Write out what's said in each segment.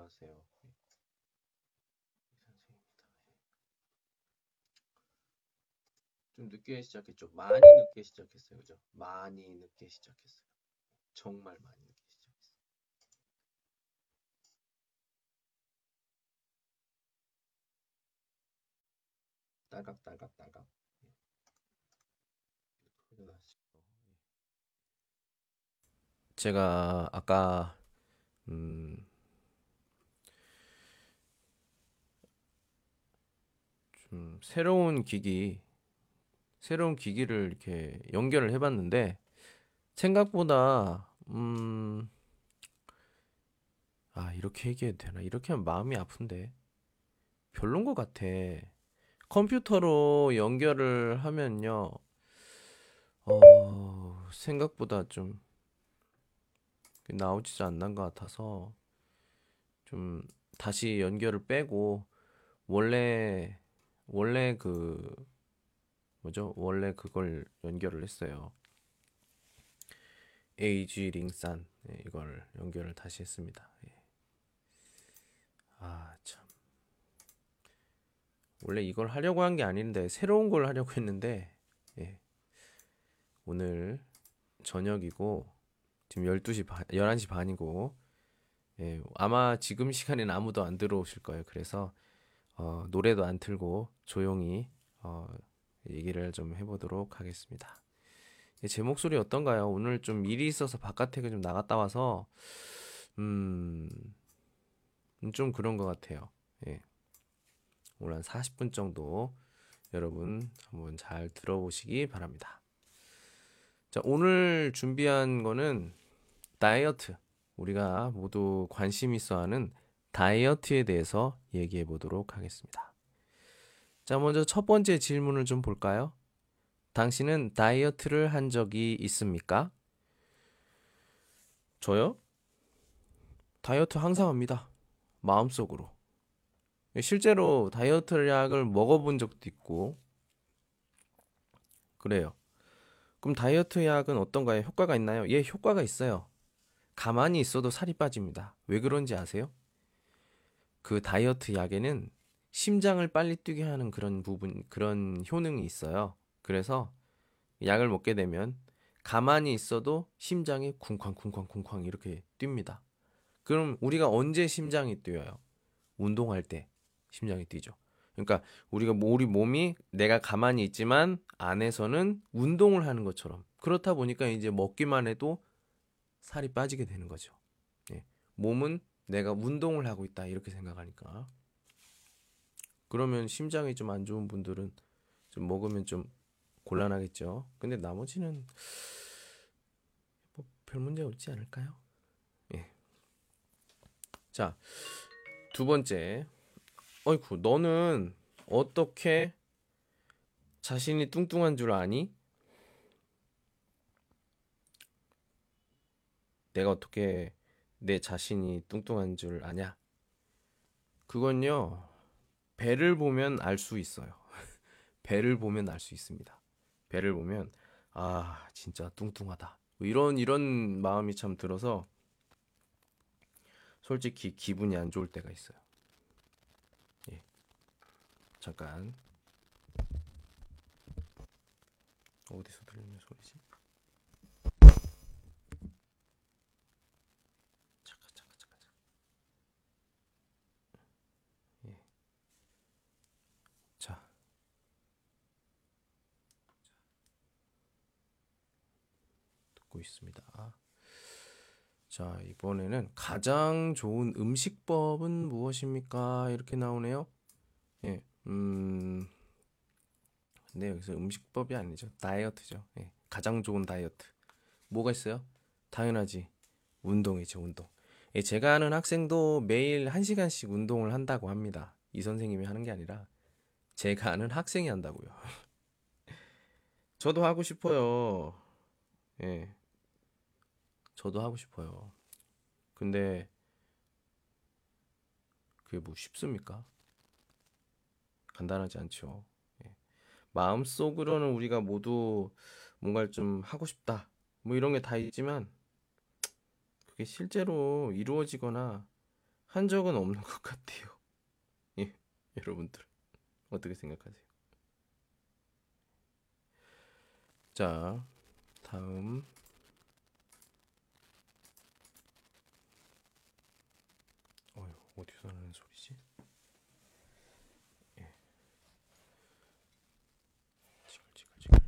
안녕하세요. 선생님입니다. 좀 늦게 시작했죠. 많이 늦게 시작했어요. 그죠? 많이 늦게 시작했어요. 정말 많이 늦게 시작했어요. 딸깍딸깍딸깍. 제가 아까 음, 좀 새로운 기기를 이렇게 연결을 해봤는데 생각보다 이렇게 얘기해도 되나? 이렇게 하면 마음이 아픈데 별론 것 같아. 컴퓨터로 연결을 하면요, 생각보다 좀 나오지도 않는 것 같아서 좀 다시 연결을 빼고 원래 원래 그 뭐죠? 원래 그걸 연결을 했어요. AG 링산, 이걸 연결을 다시 했습니다. 예. 참. 원래 이걸 하려고 한 게 아닌데 새로운 걸 하려고 했는데, 예. 오늘 저녁이고 지금 11시 반이고, 예. 아마 지금 시간엔 아무도 안 들어오실 거예요. 그래서 노래도 안 틀고 조용히 얘기를 좀 해보도록 하겠습니다. 제 목소리 어떤가요? 오늘 좀 일이 있어서 바깥에 좀 나갔다 와서 음, 좀 그런 것 같아요. 예. 오늘 한 40분 정도 여러분 한번 잘 들어보시기 바랍니다. 자, 오늘 준비한 거는 다이어트. 우리가 모두 관심 있어 하는 다이어트에 대해서 얘기해 보도록 하겠습니다. 자, 먼저 첫 번째 질문을 좀 볼까요? 당신은 다이어트를 한 적이 있습니까? 저요? 다이어트 항상 합니다. 마음속으로. 실제로 다이어트 약을 먹어본 적도 있고, 그래요. 그럼 다이어트 약은 어떤가요? 효과가 있나요? 예, 효과가 있어요. 가만히 있어도 살이 빠집니다. 왜 그런지 아세요? 그 다이어트 약에는 심장을 빨리 뛰게 하는 그런 효능이 있어요. 그래서 약을 먹게 되면 가만히 있어도 심장이 쿵쾅쿵쾅쿵쾅 이렇게 뜁니다. 그럼 우리가 언제 심장이 뛰어요? 운동할 때 심장이 뛰죠. 그러니까 우리 몸이 내가 가만히 있지만 안에서는 운동을 하는 것처럼 그렇다 보니까 이제 먹기만 해도 살이 빠지게 되는 거죠. 예. 몸은 내가 운동을 하고 있다 이렇게 생각하니까 그러면 심장이 좀 안 좋은 분들은 좀 먹으면 좀 곤란하겠죠. 근데 나머지는 별 문제 없지 않을까요? 예. 자, 두 번째. 어이쿠, 너는 어떻게 자신이 뚱뚱한 줄 아니? 내가 어떻게 내 자신이 뚱뚱한 줄 아냐? 그건요, 배를 보면 알 수 있어요. 배를 보면 알 수 있습니다. 배를 보면, 진짜 뚱뚱하다. 뭐 이런 마음이 참 들어서 솔직히 기분이 안 좋을 때가 있어요. 예, 잠깐. 어디서 들리는 소리지? 잠깐. 예. 자, 듣고 있습니다. 자, 이번에는 가장 좋은 음식법은 무엇입니까? 이렇게 나오네요. 예, 근데 여기서 음식법이 아니죠. 다이어트죠. 예, 가장 좋은 다이어트. 뭐가 있어요? 당연하지. 운동이죠, 운동. 예, 제가 아는 학생도 매일 1시간씩 운동을 한다고 합니다. 이 선생님이 하는 게 아니라 제가 아는 학생이 한다고요. 저도 하고 싶어요. 예, 저도 하고 싶어요. 근데 그게 뭐 쉽습니까? 간단하지 않죠. 예. 마음속으로는 우리가 모두 뭔가를 좀 하고 싶다. 뭐 이런 게 다 있지만 그게 실제로 이루어지거나 한 적은 없는 것 같아요. 예, 여러분들 어떻게 생각하세요? 자, 다음. 어디서 나는 소리지? 예, 지글지글지글.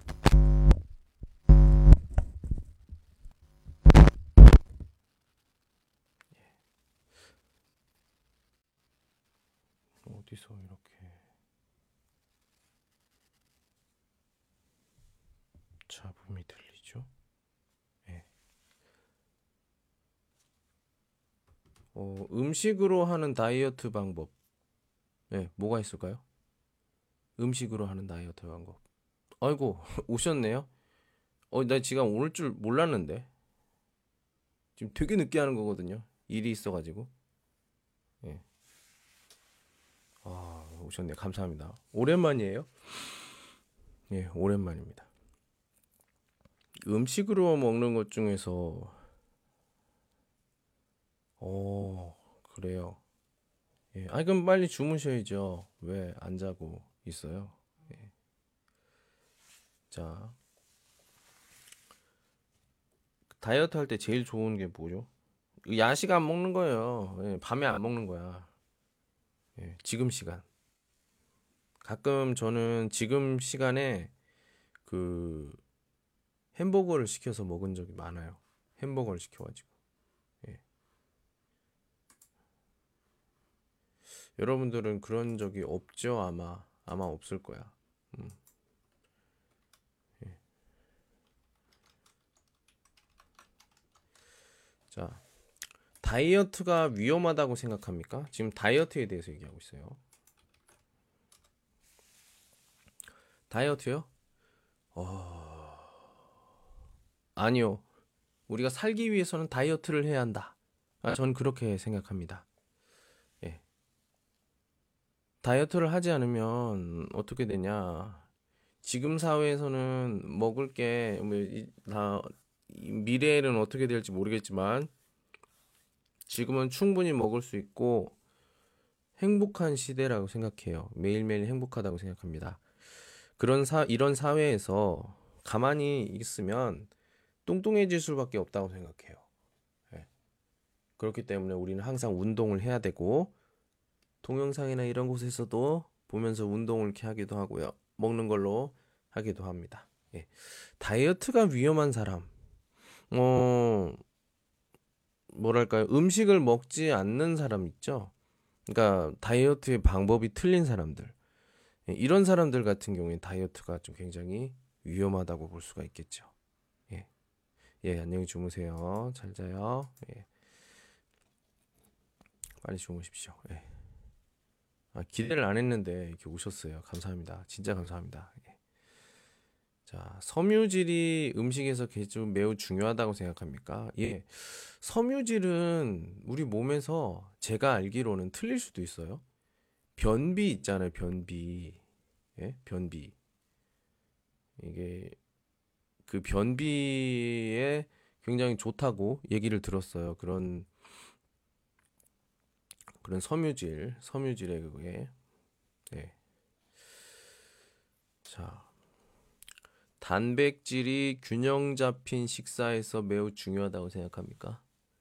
어디서 이렇게 잡음이 들리죠? 예. 음식으로 하는 다이어트 방법. 네, 뭐가 있을까요? 음식으로 하는 다이어트 방법. 아이고, 오셨네요? 나 지금 올 줄 몰랐는데. 지금 되게 늦게 하는 거거든요. 일이 있어가지고. 예. 오셨네. 감사합니다. 오랜만이에요? 예, 오랜만입니다. 음식으로 먹는 것 중에서, 그래요. 예. 그럼 빨리 주무셔야죠. 왜 안 자고 있어요? 예. 자, 다이어트 할 때 제일 좋은 게 뭐죠? 야식 안 먹는 거예요. 예, 밤에 안 먹는 거야. 예, 지금 시간. 가끔 저는 지금 시간에 그 햄버거를 시켜서 먹은 적이 많아요. 햄버거를 시켜가지고. 예. 여러분들은 그런 적이 없죠? 아마 없을 거야. 음. 예. 자, 다이어트가 위험하다고 생각합니까? 지금 다이어트에 대해서 얘기하고 있어요. 다이어트요? 아니요. 우리가 살기 위해서는 다이어트를 해야 한다. 저는 그렇게 생각합니다. 예. 다이어트를 하지 않으면 어떻게 되냐? 지금 사회에서는 먹을 게 미래에는 어떻게 될지 모르겠지만 지금은 충분히 먹을 수 있고 행복한 시대라고 생각해요. 매일매일 행복하다고 생각합니다. 이런 사회에서 가만히 있으면 뚱뚱해질 수밖에 없다고 생각해요. 예. 그렇기 때문에 우리는 항상 운동을 해야 되고 동영상이나 이런 곳에서도 보면서 운동을 이렇게 하기도 하고요. 먹는 걸로 하기도 합니다. 예. 다이어트가 위험한 사람. 어, 뭐랄까요? 음식을 먹지 않는 사람 있죠? 그러니까 다이어트의 방법이 틀린 사람들. 예, 이런 사람들 같은 경우에 다이어트가 좀 굉장히 위험하다고 볼 수가 있겠죠. 예. 예, 안녕히 주무세요. 잘 자요. 예. 빨리 주무십시오. 예. 기대를 안 했는데 이렇게 오셨어요. 감사합니다. 진짜 감사합니다. 예. 자, 섬유질이 음식에서 좀 매우 중요하다고 생각합니까? 예. 섬유질은 우리 몸에서 제가 알기로는 틀릴 수도 있어요. 변비 있잖아요, 변비. 예? 변비. 이게 그 변비에 굉장히 좋다고 얘기를 들었어요. 그런 섬유질에 그게. 네. 자, 단백질이 균형 잡힌 식사에서 매우 중요하다고 생각합니까?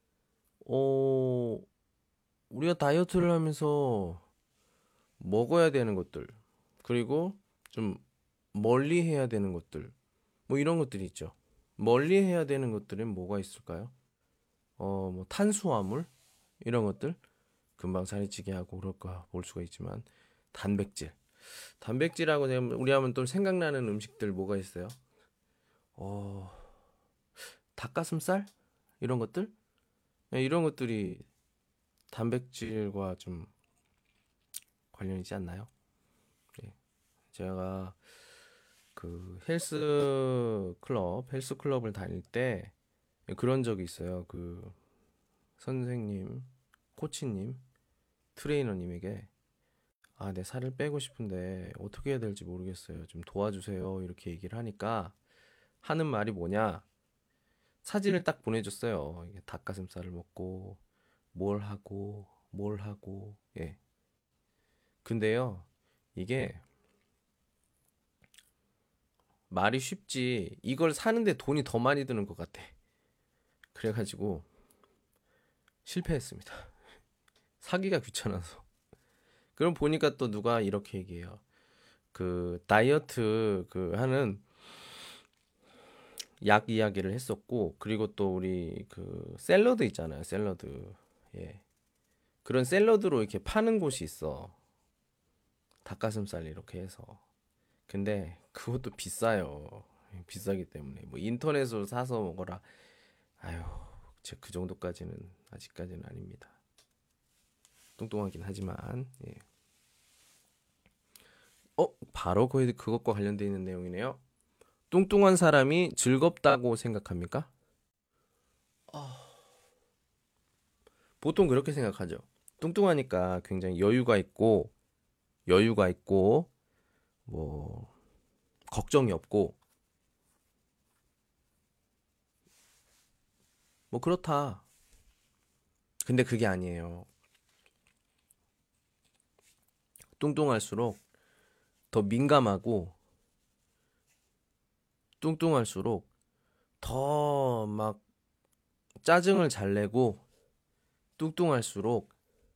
어, 우리가 다이어트를 하면서 먹어야 되는 것들, 그리고 좀 멀리 해야 되는 것들, 뭐 이런 것들이 있죠. 멀리 해야 되는 것들은 뭐가 있을까요? 뭐 탄수화물 이런 것들 금방 살이 찌게 하고 그럴까 볼 수가 있지만 단백질, 단백질하고 우리 하면 또 생각나는 음식들 뭐가 있어요? 어, 닭가슴살 이런 것들, 네, 이런 것들이 단백질과 좀 관련이 있지 않나요? 예. 제가 그 헬스 클럽을 다닐 때 그런 적이 있어요. 그 선생님, 코치님, 트레이너님에게 내 살을 빼고 싶은데 어떻게 해야 될지 모르겠어요. 좀 도와주세요. 이렇게 얘기를 하니까 하는 말이 뭐냐? 사진을 딱 보내줬어요. 이게 닭가슴살을 먹고 뭘 하고 뭘 하고, 예. 근데요, 이게 말이 쉽지, 이걸 사는데 돈이 더 많이 드는 것 같아. 그래가지고 실패했습니다. 사기가 귀찮아서. 그럼 보니까 또 누가 이렇게 얘기해요. 그 다이어트 그 하는 약 이야기를 했었고, 그리고 또 우리 그 샐러드 있잖아요. 샐러드. 예. 그런 샐러드로 이렇게 파는 곳이 있어. 닭가슴살 이렇게 해서. 근데 그것도 비싸요. 비싸기 때문에 뭐 인터넷으로 사서 먹어라. 아유, 제 그 정도까지는 아직까지는 아닙니다. 뚱뚱하긴 하지만. 예. 바로 거의 그것과 관련돼 있는 내용이네요. 뚱뚱한 사람이 즐겁다고 생각합니까? 보통 그렇게 생각하죠. 뚱뚱하니까 굉장히 여유가 있고, 뭐, 걱정이 없고, 뭐, 그렇다. 근데 그게 아니에요. 뚱뚱할수록 더 민감하고, 뚱뚱할수록 더 막 짜증을 잘 내고, 뚱뚱할수록,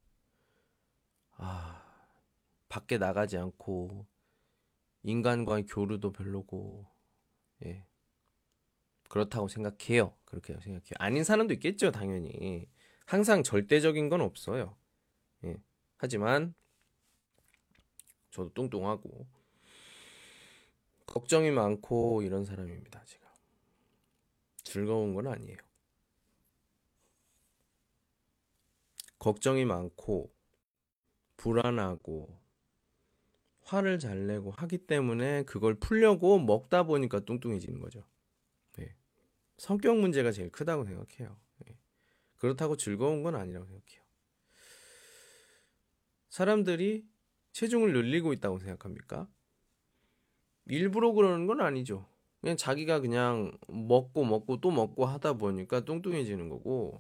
아, 밖에 나가지 않고, 인간과의 교류도 별로고, 예. 그렇다고 생각해요. 그렇게 생각해요. 아닌 사람도 있겠죠, 당연히. 항상 절대적인 건 없어요. 예. 하지만 저도 뚱뚱하고 걱정이 많고 이런 사람입니다, 제가. 즐거운 건 아니에요. 걱정이 많고 불안하고 화를 잘 내고 하기 때문에 그걸 풀려고 먹다 보니까 뚱뚱해지는 거죠. 예. 성격 문제가 제일 크다고 생각해요. 예. 그렇다고 즐거운 건 아니라고 생각해요. 사람들이 체중을 늘리고 있다고 생각합니까? 일부러 그러는 건 아니죠. 그냥 자기가 그냥 먹고 또 먹고 하다 보니까 뚱뚱해지는 거고,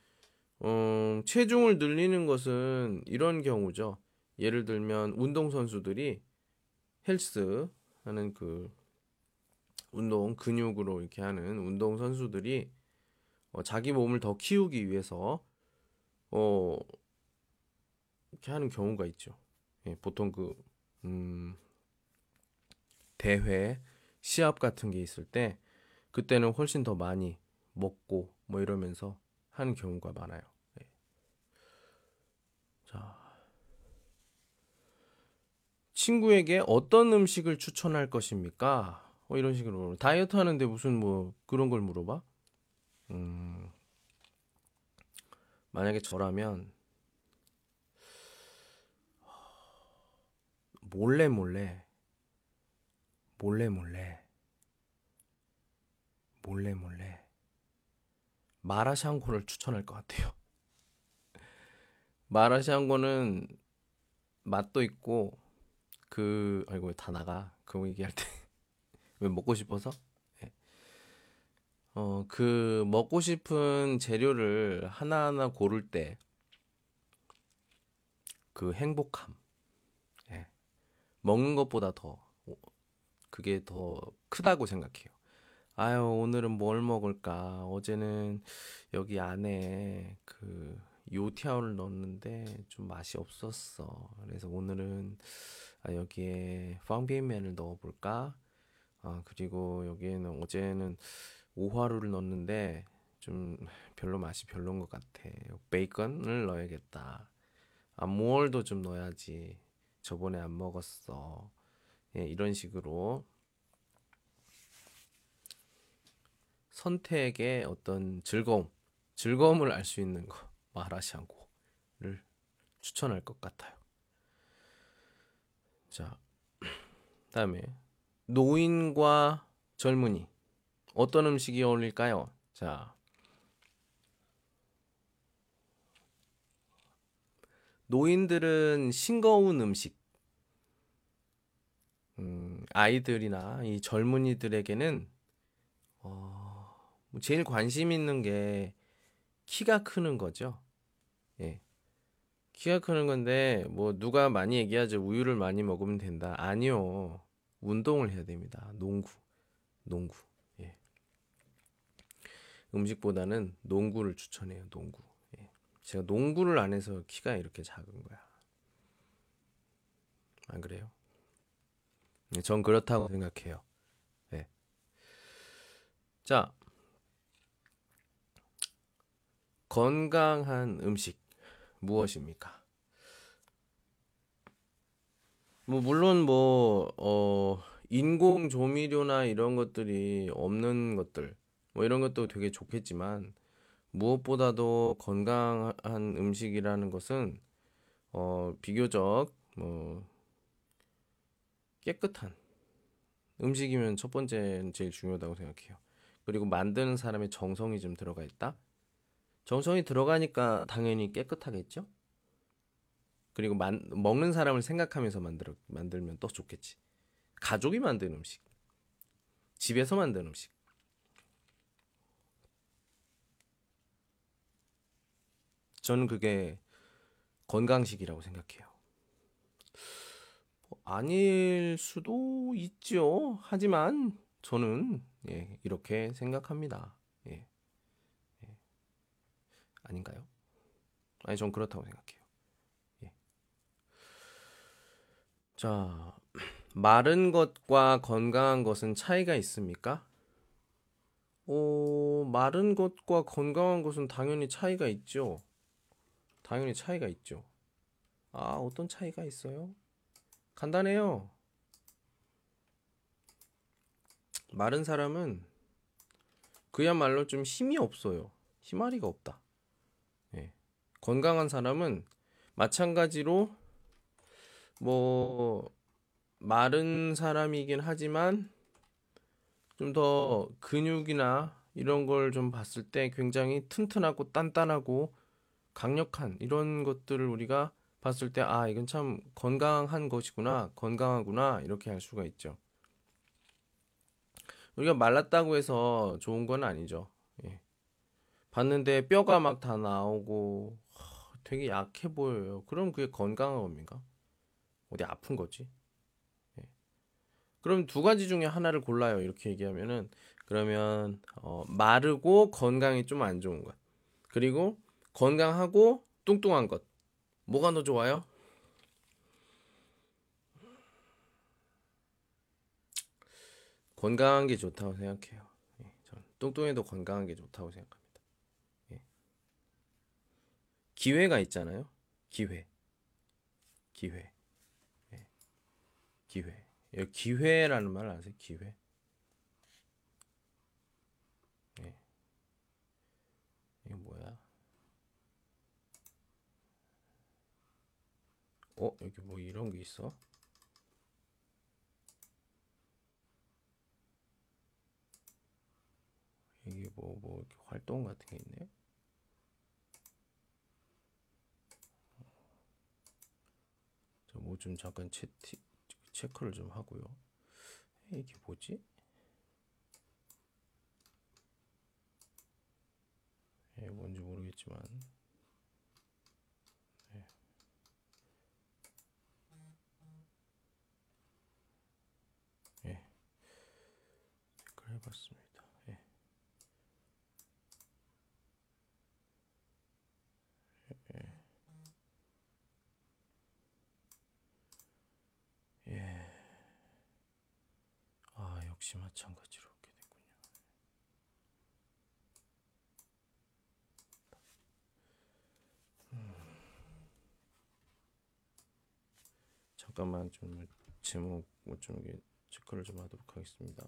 체중을 늘리는 것은 이런 경우죠. 예를 들면 운동선수들이 헬스 하는 그 운동, 근육으로 이렇게 하는 운동선수들이 자기 몸을 더 키우기 위해서 어, 이렇게 하는 경우가 있죠. 예, 보통 음, 대회, 시합 같은 게 있을 때 그때는 훨씬 더 많이 먹고 뭐 이러면서 하는 경우가 많아요. 예. 자, 친구에게 어떤 음식을 추천할 것입니까? 이런 식으로 다이어트 하는데 무슨 뭐 그런 걸 물어봐? 음, 만약에 저라면 몰래 몰래 몰래 몰래 몰래 몰래 마라샹궈를 추천할 것 같아요. 마라샹궈는 맛도 있고 아이고 다 나가 그거 얘기할 때 왜 먹고 싶어서? 예. 그 먹고 싶은 재료를 하나하나 고를 때 그 행복함, 예. 먹는 것보다 더 그게 더 크다고 생각해요. 아유, 오늘은 뭘 먹을까? 어제는 여기 안에 그 요티아오를 넣었는데 좀 맛이 없었어. 그래서 오늘은 여기에 빵비엔면을 넣어볼까? 그리고 여기에는 어제는 오화루를 넣었는데 좀 별로 맛이 별론 것 같아. 베이컨을 넣어야겠다. 무얼도 좀 넣어야지. 저번에 안 먹었어. 예, 이런 식으로 선택의 어떤 즐거움을 알 수 있는 거, 마라샹궈를 추천할 것 같아요. 자, 다음에 노인과 젊은이 어떤 음식이 어울릴까요? 자, 노인들은 싱거운 음식, 아이들이나 이 젊은이들에게는 뭐 제일 관심 있는 게 키가 크는 거죠. 예. 키가 크는 건데 뭐 누가 많이 얘기하죠. 우유를 많이 먹으면 된다. 아니요. 운동을 해야 됩니다. 농구. 예. 음식보다는 농구를 추천해요. 농구. 예. 제가 농구를 안 해서 키가 이렇게 작은 거야. 안 그래요? 예, 전 그렇다고 생각해요. 예. 자, 건강한 음식 무엇입니까? 뭐 물론 인공 조미료나 이런 것들이 없는 것들 뭐 이런 것도 되게 좋겠지만 무엇보다도 건강한 음식이라는 것은 비교적 뭐 깨끗한 음식이면 첫 번째는 제일 중요하다고 생각해요. 그리고 만드는 사람의 정성이 좀 들어가 있다. 정성이 들어가니까 당연히 깨끗하겠죠? 그리고 먹는 사람을 생각하면서 만들면 또 좋겠지. 가족이 만든 음식, 집에서 만든 음식. 저는 그게 건강식이라고 생각해요. 아닐 수도 있죠. 하지만 저는 이렇게 생각합니다. 예, 아닌가요? 아니, 전 그렇다고 생각해요. 예. 자, 마른 것과 건강한 것은 차이가 있습니까? 마른 것과 건강한 것은 당연히 차이가 있죠. 당연히 차이가 있죠. 아, 어떤 차이가 있어요? 간단해요. 마른 사람은 그야말로 좀 힘이 없어요. 힘아리가 없다. 예. 건강한 사람은 마찬가지로 뭐 마른 사람이긴 하지만 좀 더 근육이나 이런 걸 좀 봤을 때 굉장히 튼튼하고 단단하고 강력한 이런 것들을 우리가 봤을 때 아, 이건 참 건강한 것이구나, 건강하구나 이렇게 할 수가 있죠. 우리가 말랐다고 해서 좋은 건 아니죠. 예. 봤는데 뼈가 막 다 나오고 되게 약해 보여요. 그럼 그게 건강한 겁니까? 어디 아픈 거지? 예. 그럼 두 가지 중에 하나를 골라요. 이렇게 얘기하면은 그러면 마르고 건강이 좀 안 좋은 것. 그리고 건강하고 뚱뚱한 것. 뭐가 더 좋아요? 건강한 게 좋다고 생각해요. 예, 전 뚱뚱해도 건강한 게 좋다고 생각합니다. 예. 기회가 있잖아요. 기회, 기회, 예, 기회. 기회라는 말 아세요? 기회. 예. 이게 뭐야? 여기 뭐 이런 게 있어? 이게 뭐 이렇게 활동 같은 게 있네. 저 뭐 좀 잠깐 체크를 좀 하고요. 이게 뭐지? 뭔지 모르겠지만. 예, 체크를 해봤습니다. 예, 예. 아, 역시 마찬가지로 그렇게 됐군요. 잠깐만 좀 제목 뭐좀 이게 체크를 좀 하도록 하겠습니다.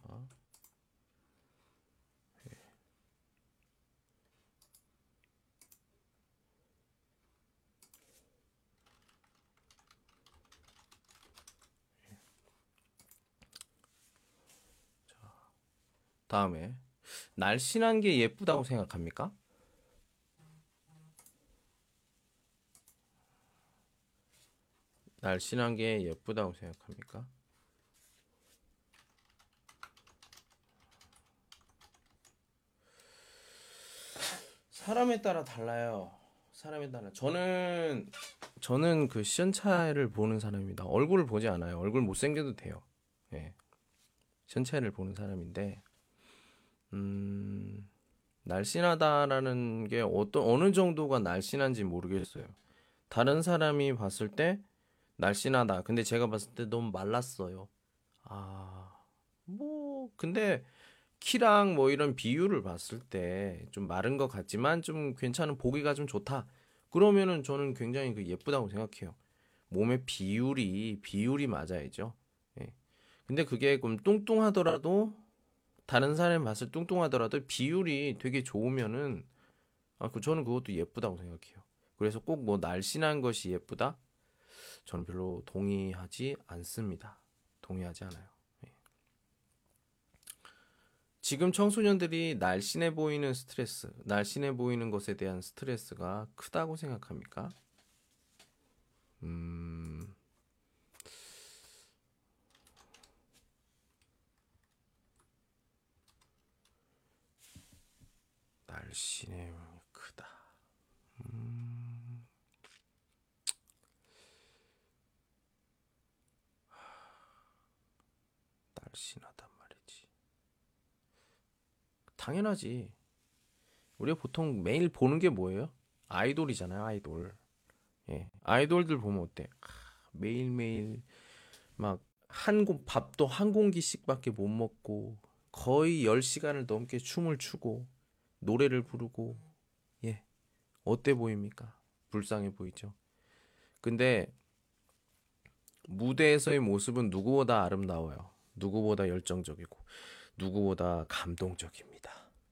다음에 날씬한 게 예쁘다고 생각합니까? 날씬한 게 예쁘다고 생각합니까? 사람에 따라 달라요. 사람에 따라. 저는 저는 그 시선차를 보는 사람입니다. 얼굴을 보지 않아요. 얼굴 못생겨도 돼요. 예. 시선차를 보는 사람인데, 음, 날씬하다라는 게 어느 정도가 날씬한지 모르겠어요. 다른 사람이 봤을 때 날씬하다. 근데 제가 봤을 때 너무 말랐어요. 아, 뭐, 근데 키랑 뭐 이런 비율을 봤을 때 좀 마른 것 같지만 좀 괜찮은 보기가 좀 좋다. 그러면은 저는 굉장히 그 예쁘다고 생각해요. 몸의 비율이 맞아야죠. 예. 근데 그게 좀 뚱뚱하더라도 다른 사람이 봤을 때 뚱뚱하더라도 비율이 되게 좋으면은 저는 그것도 예쁘다고 생각해요. 그래서 꼭 뭐 날씬한 것이 예쁘다? 저는 별로 동의하지 않습니다. 동의하지 않아요. 예. 지금 청소년들이 날씬해 보이는 것에 대한 스트레스가 크다고 생각합니까? 음, 날씬해 보이는 게 크다. 음, 날씬하단 말이지. 당연하지. 우리가 보통 매일 보는 게 뭐예요? 아이돌이잖아요, 아이돌. 예. 아이돌들 보면 어때? 매일매일 막 밥도 한 공기씩밖에 못 먹고 거의 10시간을 넘게 춤을 추고 노래를 부르고 예. 어때 보입니까? 불쌍해 보이죠. 근데 무대에서의 모습은 누구보다 아름다워요. 누구보다 열정적이고 누구보다 감동적입니다.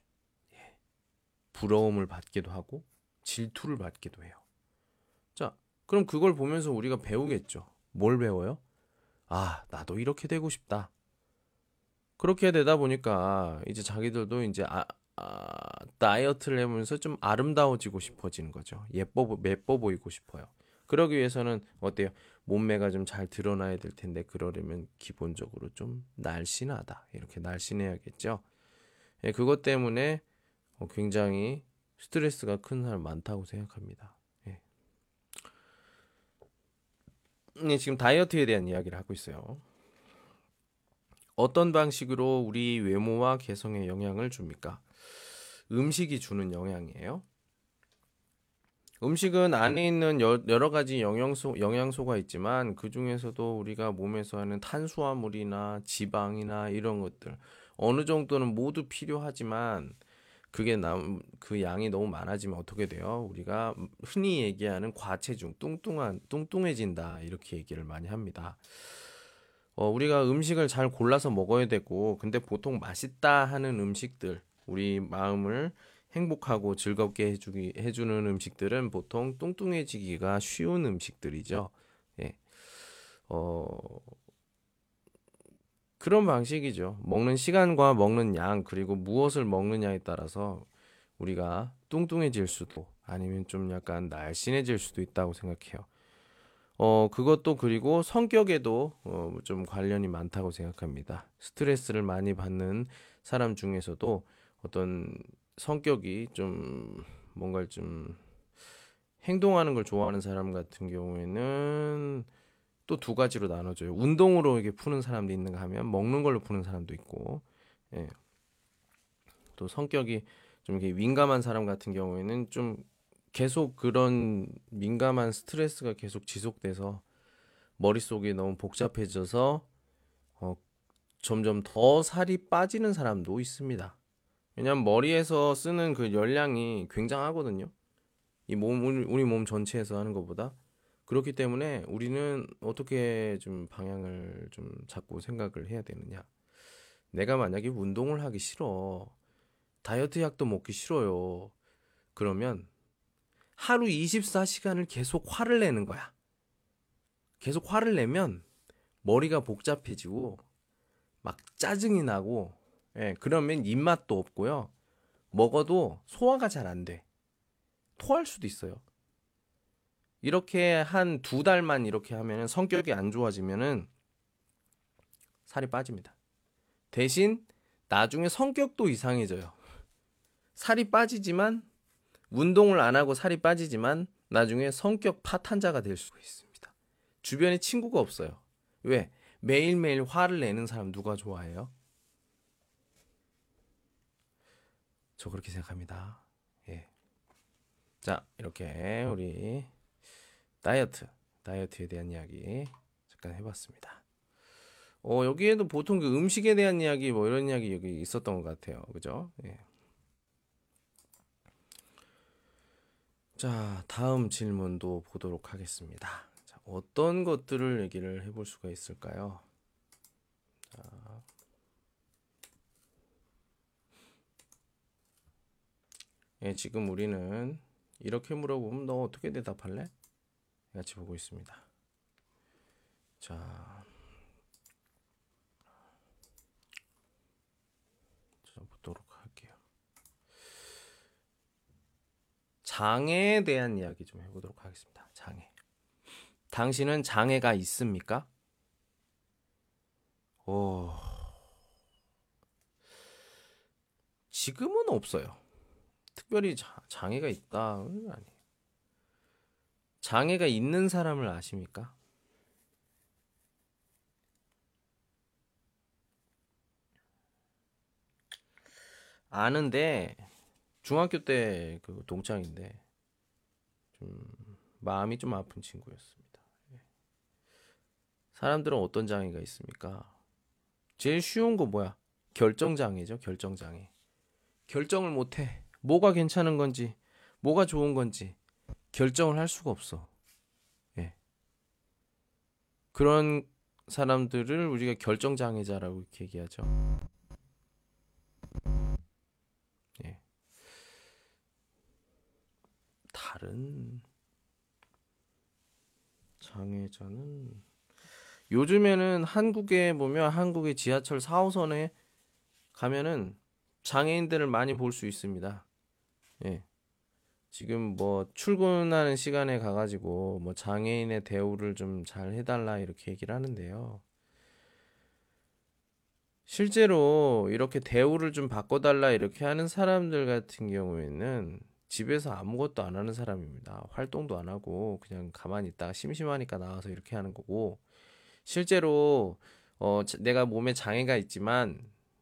부러움을 받기도 하고 질투를 받기도 해요. 자, 그럼 그걸 보면서 우리가 배우겠죠. 뭘 배워요? 나도 이렇게 되고 싶다. 그렇게 되다 보니까 이제 자기들도 이제 다이어트를 해보면서 좀 아름다워지고 싶어지는 거죠. 예뻐 보이고 싶어요. 그러기 위해서는 어때요? 몸매가 좀 잘 드러나야 될 텐데 그러려면 기본적으로 좀 날씬하다. 이렇게 날씬해야겠죠. 예, 그것 때문에 굉장히 스트레스가 큰 사람 많다고 생각합니다. 예. 지금 다이어트에 대한 이야기를 하고 있어요. 어떤 방식으로 우리 외모와 개성에 영향을 줍니까? 음식이 주는 영향이에요. 음식은 안에 있는 여러 가지 영양소가 있지만 그 중에서도 우리가 몸에서 하는 탄수화물이나 지방이나 이런 것들 어느 정도는 모두 필요하지만 그 양이 너무 많아지면 어떻게 돼요? 우리가 흔히 얘기하는 과체중, 뚱뚱해진다 이렇게 얘기를 많이 합니다. 우리가 음식을 잘 골라서 먹어야 되고, 근데 보통 맛있다 하는 음식들, 우리 마음을 행복하고 즐겁게 해주는 음식들은 보통 뚱뚱해지기가 쉬운 음식들이죠. 예. 어, 그런 방식이죠. 먹는 시간과 먹는 양, 그리고 무엇을 먹느냐에 따라서 우리가 뚱뚱해질 수도 아니면 좀 약간 날씬해질 수도 있다고 생각해요. 그것도 그리고 성격에도 좀 관련이 많다고 생각합니다. 스트레스를 많이 받는 사람 중에서도 어떤 성격이 좀 뭔가 좀 행동하는 걸 좋아하는 사람 같은 경우에는 또 두 가지로 나눠져요. 운동으로 이게 푸는 사람도 있는가 하면 먹는 걸로 푸는 사람도 있고, 예. 또 성격이 좀 이렇게 민감한 사람 같은 경우에는 좀 계속 그런 민감한 스트레스가 계속 지속돼서 머릿속이 너무 복잡해져서 어, 점점 더 살이 빠지는 사람도 있습니다. 왜냐하면 머리에서 쓰는 그 열량이 굉장하거든요. 우리 몸 전체에서 하는 것보다. 그렇기 때문에 우리는 어떻게 좀 방향을 좀 잡고 생각을 해야 되느냐. 내가 만약에 운동을 하기 싫어. 다이어트 약도 먹기 싫어요. 그러면 하루 24시간을 계속 화를 내는 거야. 계속 화를 내면 머리가 복잡해지고 막 짜증이 나고 그러면 입맛도 없고요. 먹어도 소화가 잘 안 돼. 토할 수도 있어요. 이렇게 한 2달만 이렇게 하면 성격이 안 좋아지면은 살이 빠집니다. 대신 나중에 성격도 이상해져요. 살이 빠지지만 운동을 안 하고 살이 빠지지만 나중에 성격 파탄자가 될 수 있습니다. 주변에 친구가 없어요. 왜? 매일매일 화를 내는 사람 누가 좋아해요? 저 그렇게 생각합니다. 예. 자, 이렇게 우리 다이어트에 대한 이야기 잠깐 해봤습니다. 여기에도 보통 그 음식에 대한 이야기 뭐 이런 이야기 여기 있었던 것 같아요. 그죠? 예. 자, 다음 질문도 보도록 하겠습니다. 자, 어떤 것들을 얘기를 해볼 수가 있을까요? 자, 예, 지금 우리는 이렇게 물어보면 너 어떻게 대답할래? 같이 보고 있습니다. 자, 보도록 할게요. 장애에 대한 이야기 좀 해보도록 하겠습니다. 장애. 당신은 장애가 있습니까? 지금은 없어요. 특별히 장애가 있다는 아니에요. 장애가 있는 사람을 아십니까? 아는데 중학교 때 그 동창인데 좀 마음이 좀 아픈 친구였습니다. 사람들은 어떤 장애가 있습니까? 제일 쉬운 거 뭐야? 결정장애죠. 결정장애. 결정을 못해. 뭐가 괜찮은 건지, 뭐가 좋은 건지 결정을 할 수가 없어. 예. 그런 사람들을 우리가 결정장애자라고 이렇게 얘기하죠. 예. 다른 장애자는 요즘에는 한국에 보면 한국의 지하철 4호선에 가면은 장애인들을 많이 볼 수 있습니다. 예. 지금 뭐 출근하는 시간에 가가지고 뭐 장애인의 대우를 좀 잘 해달라 이렇게 얘기를 하는데요. 실제로 이렇게 대우를 좀 바꿔달라 이렇게 하는 사람들 같은 경우에는 집에서 아무것도 안 하는 사람입니다. 활동도 안 하고 그냥 가만히 있다가 심심하니까 나와서 이렇게 하는 거고 실제로 내가 몸에 장애가 있지만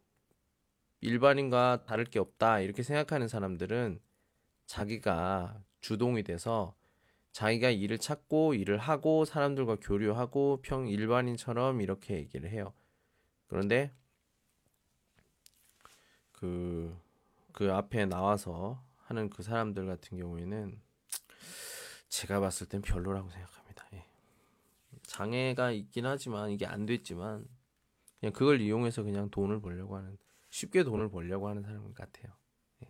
일반인과 다를 게 없다 이렇게 생각하는 사람들은 자기가 주동이 돼서 자기가 일을 찾고 일을 하고 사람들과 교류하고 일반인처럼 이렇게 얘기를 해요. 그런데 그 앞에 나와서 하는 그 사람들 같은 경우에는 제가 봤을 땐 별로라고 생각합니다. 예. 장애가 있긴 하지만 이게 안 됐지만 그냥 그걸 이용해서 그냥 돈을 벌려고 하는 쉽게 돈을 벌려고 하는 사람 같아요. 예.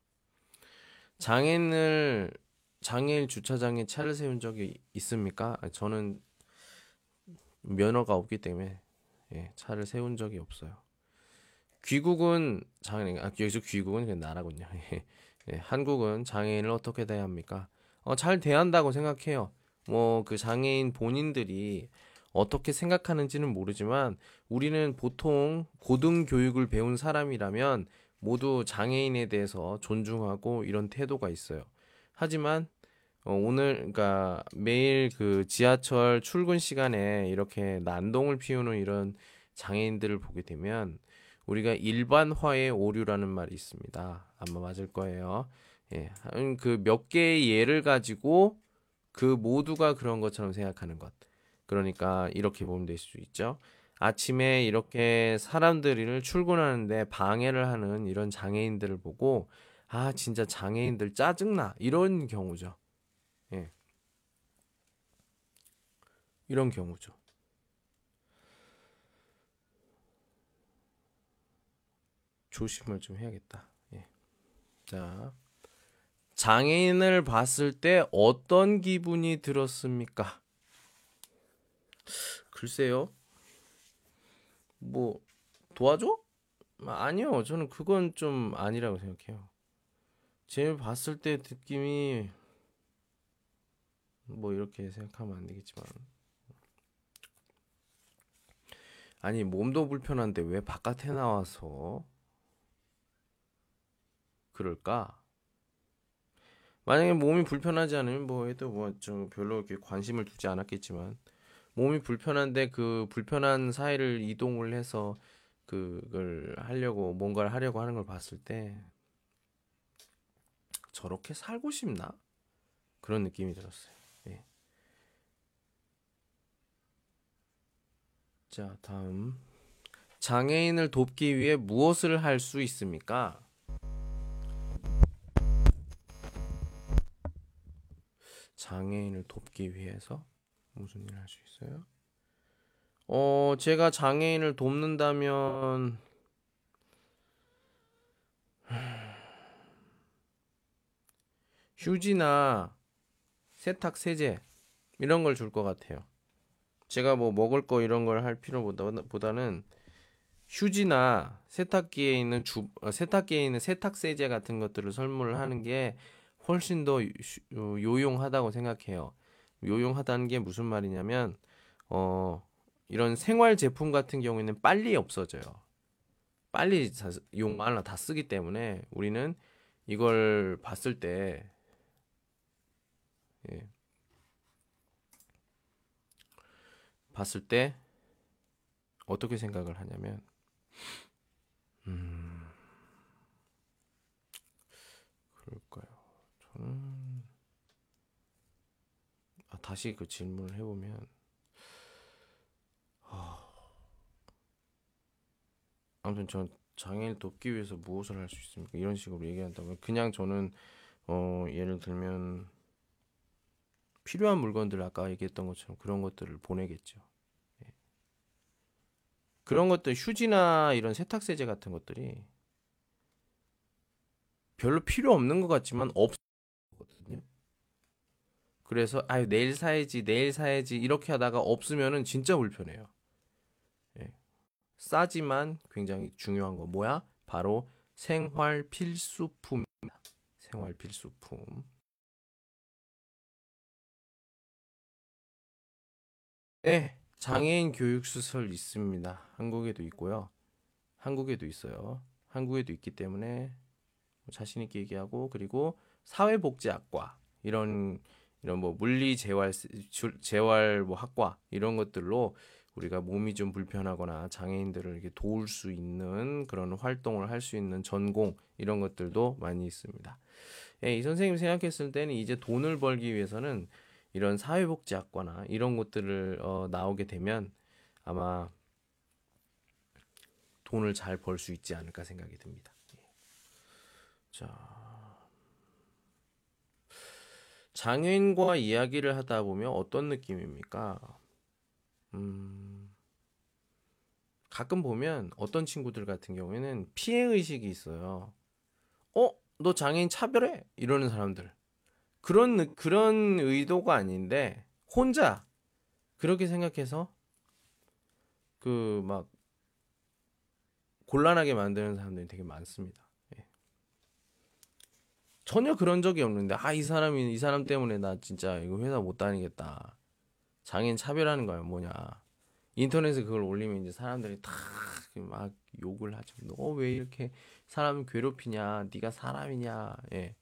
장애인 주차장에 차를 세운 적이 있습니까? 저는 면허가 없기 때문에 예, 차를 세운 적이 없어요. 귀국은 여기서 귀국은 그냥 나라군요. 예, 한국은 장애인을 어떻게 대해야 합니까? 잘 대한다고 생각해요. 뭐 그 장애인 본인들이 어떻게 생각하는지는 모르지만 우리는 보통 고등 교육을 배운 사람이라면 모두 장애인에 대해서 존중하고 이런 태도가 있어요. 하지만 그러니까 매일 그 지하철 출근 시간에 이렇게 난동을 피우는 이런 장애인들을 보게 되면 우리가 일반화의 오류라는 말이 있습니다. 아마 맞을 거예요. 예, 그 몇 개의 예를 가지고 그 모두가 그런 것처럼 생각하는 것. 그러니까 이렇게 보면 될 수 있죠. 아침에 이렇게 사람들을 출근하는데 방해를 하는 이런 장애인들을 보고 아 진짜 장애인들 짜증나 이런 경우죠. 예, 이런 경우죠. 조심을 좀 해야겠다. 예. 자, 장애인을 봤을 때 어떤 기분이 들었습니까? 글쎄요. 뭐 도와줘? 아니요. 저는 그건 좀 아니라고 생각해요. 쟤 봤을 때 느낌이 뭐 이렇게 생각하면 안 되겠지만 아니 몸도 불편한데 왜 바깥에 나와서 그럴까? 만약에 몸이 불편하지 않으면 뭐 해도 뭐 좀 별로 이렇게 관심을 두지 않았겠지만 몸이 불편한데 그 불편한 사이를 이동을 해서 그걸 하려고 뭔가를 하려고 하는 걸 봤을 때 저렇게 살고 싶나? 그런 느낌이 들었어요. 예. 자, 다음. 장애인을 돕기 위해 무엇을 할 수 있습니까? 장애인을 돕기 위해서 무슨 일을 할 수 있어요? 제가 장애인을 돕는다면 휴지나 세탁 세제 이런 걸 줄 것 같아요. 제가 뭐 먹을 거 이런 걸 할 필요보다는 휴지나 세탁기에 있는 세탁 세제 같은 것들을 선물을 하는 게 훨씬 더 요용하다고 생각해요. 요용하다는 게 무슨 말이냐면 어 이런 생활 제품 같은 경우에는 빨리 없어져요. 빨리 용 하나 다 쓰기 때문에 우리는 이걸 봤을 때 예, 봤을 때 어떻게 생각을 하냐면 음, 그럴까요? 저는 다시 그 질문을 해보면 아무튼 전 장애인을 돕기 위해서 무엇을 할 수 있습니까? 이런 식으로 얘기한다면 그냥 저는 예를 들면 필요한 물건들 아까 얘기했던 것처럼 그런 것들을 보내겠죠. 예. 그런 것들 휴지나 이런 세탁세제 같은 것들이 별로 필요 없는 것 같지만 없거든요. 그래서 아유 내일 사야지 이렇게 하다가 없으면은 진짜 불편해요. 예. 싸지만 굉장히 중요한 거 뭐야? 바로 생활 필수품. 생활 필수품. 네, 장애인 교육시설 있습니다. 한국에도 있고요. 한국에도 있어요. 한국에도 있기 때문에 자신 있게 얘기하고 그리고 사회복지학과 이런 뭐 물리 재활 뭐 학과 이런 것들로 우리가 몸이 좀 불편하거나 장애인들을 이렇게 도울 수 있는 그런 활동을 할 수 있는 전공 이런 것들도 많이 있습니다. 예, 이 선생님 생각했을 때는 이제 돈을 벌기 위해서는 이런 사회복지학과나 이런 것들을 나오게 되면 아마 돈을 잘 벌 수 있지 않을까 생각이 듭니다. 자, 장애인과 이야기를 하다 보면 어떤 느낌입니까? 음, 가끔 보면 어떤 친구들 같은 경우에는 피해 의식이 있어요. 너 장애인 차별해? 이러는 사람들. 그런 의도가 아닌데 혼자 그렇게 생각해서 그 막 곤란하게 만드는 사람들이 되게 많습니다. 예. 전혀 그런 적이 없는데 이 사람 때문에 나 진짜 이거 회사 못 다니겠다. 장애인 차별하는 거야 뭐냐. 인터넷에 그걸 올리면 이제 사람들이 다 막 욕을 하죠. 너 왜 이렇게 사람 괴롭히냐? 네가 사람이냐? 예.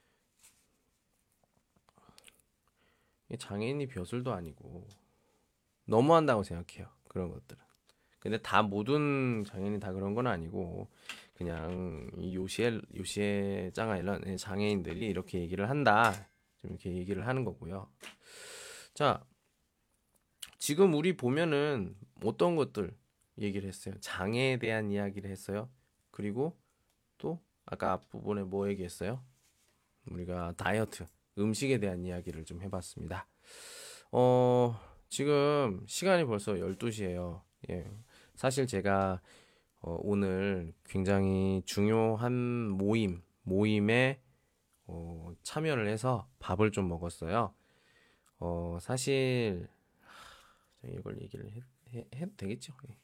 장애인이 벼슬도 아니고 너무한다고 생각해요. 그런 것들은. 근데 다 모든 장애인이 다 그런 건 아니고 그냥 이 요시에 짱아일런 장애인들이 이렇게 얘기를 한다. 좀 이렇게 얘기를 하는 거고요. 자, 지금 우리 보면은 어떤 것들 얘기를 했어요. 장애에 대한 이야기를 했어요. 그리고 또 아까 앞부분에 뭐 얘기했어요? 우리가 다이어트, 음식에 대한 이야기를 좀 해봤습니다. 어, 지금 시간이 벌써 12시예요. 예. 사실 제가 오늘 굉장히 중요한 모임에 참여를 해서 밥을 좀 먹었어요. 사실 이걸 얘기를 해도 되겠죠? 예.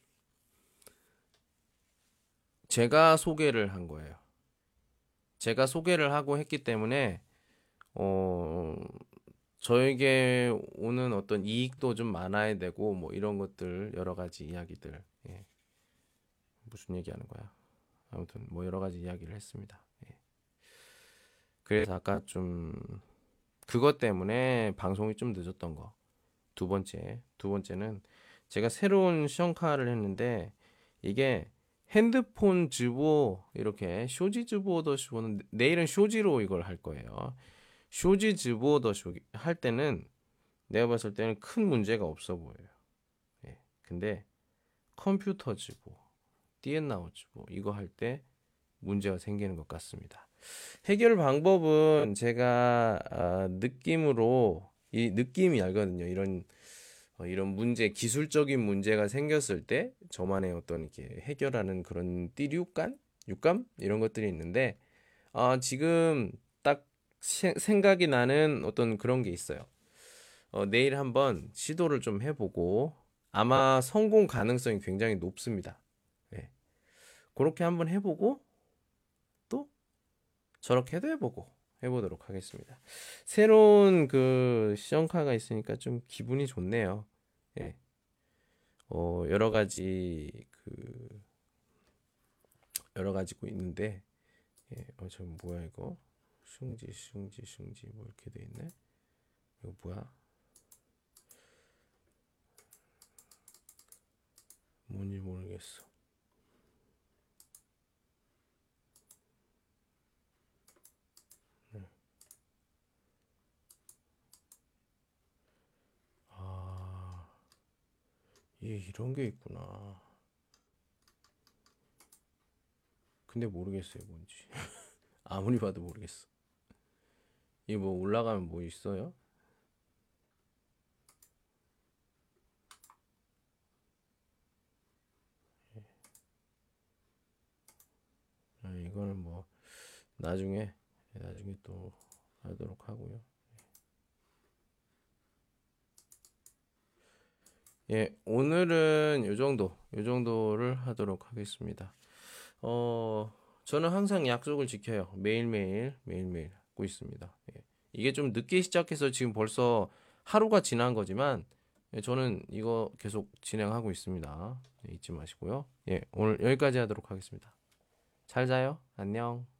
제가 소개를 한 거예요. 제가 소개를 하고 했기 때문에 어, 저에게 오는 어떤 이익도 좀 많아야 되고 뭐 이런 것들 여러 가지 이야기들 예. 무슨 얘기하는 거야? 아무튼 뭐 여러 가지 이야기를 했습니다. 예. 그래서 아까 좀 그것 때문에 방송이 좀 늦었던 거. 두 번째는 제가 새로운 시험카를 했는데 이게 핸드폰 즈보 이렇게 쇼지 즈보 더 쇼는 내일은 쇼지로 이걸 할 거예요. 쇼지 즈보 더 쇼 할 때는 내가 봤을 때는 큰 문제가 없어 보여요. 예. 근데 컴퓨터 즈보, 띠엔나우 즈보 이거 할 때 문제가 생기는 것 같습니다. 해결 방법은 제가 느낌으로 이 느낌이 알거든요. 이런 문제, 기술적인 문제가 생겼을 때 저만의 어떤 이렇게 해결하는 그런 띠류감, 육감 이런 것들이 있는데 지금 딱 생각이 나는 어떤 그런 게 있어요. 내일 한번 시도를 좀 해보고 아마 성공 가능성이 굉장히 높습니다. 예. 그렇게 한번 해보고 또 저렇게도 해보고 해보도록 하겠습니다. 새로운 그 시험카가 있으니까 좀 기분이 좋네요. 예. 여러 가지고 있는데 저 뭐야 이거 슝지 뭐 이렇게 돼 있네. 이거 뭐야? 뭔지 모르겠어. 아, 이런 게 있구나. 근데 모르겠어요, 뭔지. 아무리 봐도 모르겠어. 이게 뭐 올라가면 뭐 있어요? 이거는 뭐 나중에 또 하도록 하고요. 예, 오늘은 요 정도를 하도록 하겠습니다. 저는 항상 약속을 지켜요. 매일매일 하고 있습니다. 예. 이게 좀 늦게 시작해서 지금 벌써 하루가 지난 거지만, 저는 이거 계속 진행하고 있습니다. 잊지 마시고요. 예, 오늘 여기까지 하도록 하겠습니다. 잘 자요. 안녕.